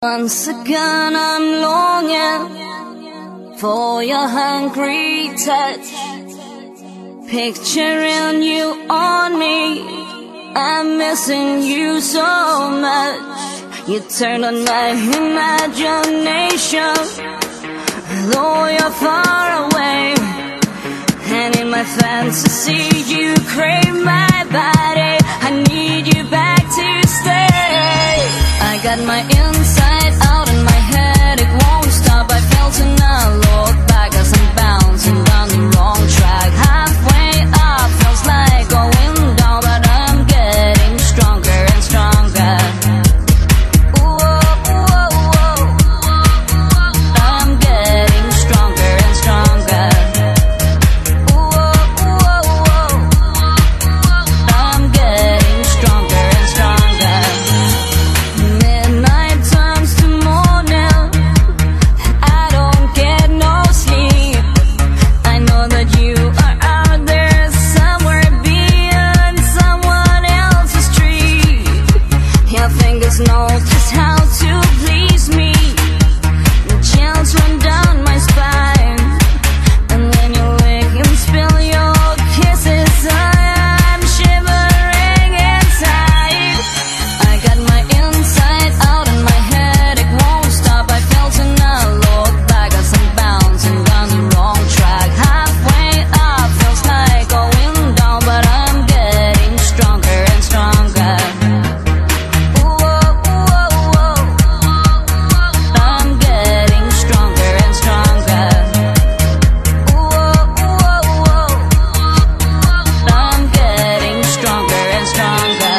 Once again I'm longing for your hungry touch, picturing you on me. I'm missing you so much. You turn on my imagination, though you're far away. And in my fantasy you crave my body. I need you back to stay. I got my inside out in my head, it won't stop. I felt to not look back as I'm bouncing down the wrong track. Halfway up feels like going down, but I'm getting stronger and stronger. I'm getting stronger and stronger. I'm getting stronger and stronger. Midnight turns to morning, I don't get no sleep. I know that you are out there somewhere beyond someone else's street. Your fingers know just how to please me. The chills run down my spine, and when you lick and spill your kisses, I'm shivering inside. I got my inside out in my head, it won't stop. I felt to not look back as I'm bouncing down the wrong track. Halfway up feels like going down, but I'm getting stronger and stronger. I'm getting stronger and stronger. I'm getting stronger and stronger.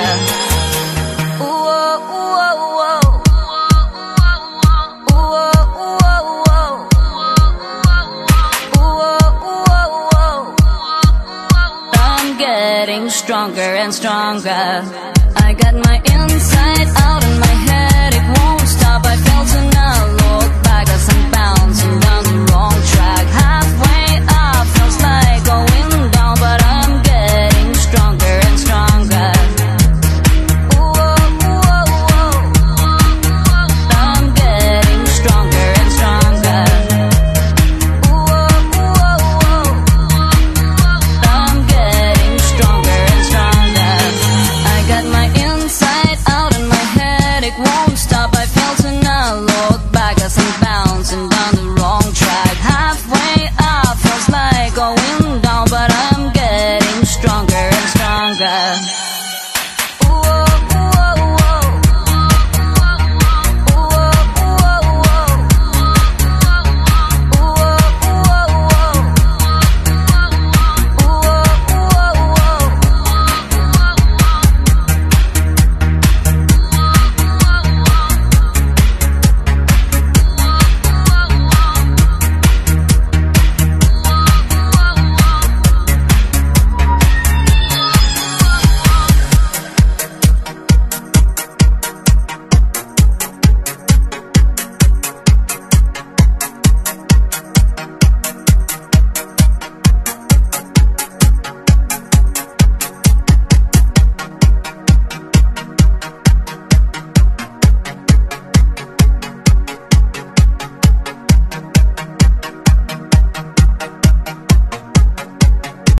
I'm getting stronger and stronger. I got my inside out